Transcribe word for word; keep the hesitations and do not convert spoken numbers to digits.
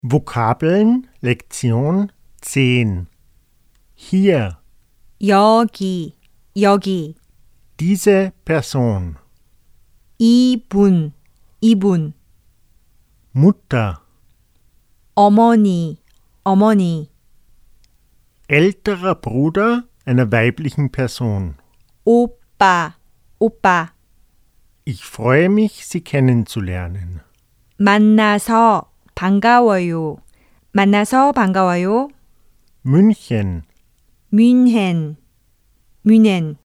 Vokabeln Lektion zehn. Hier, 여기, 여기. diese Person. 이분, 이분. Mutter, 어머니, 어머니. älterer Bruder einer weiblichen Person. 오빠, 오빠. Ich freue mich, Sie kennenzulernen. 만나서 반가워요. 만나서 반가워요. München, 뮌헨, 뮌헨.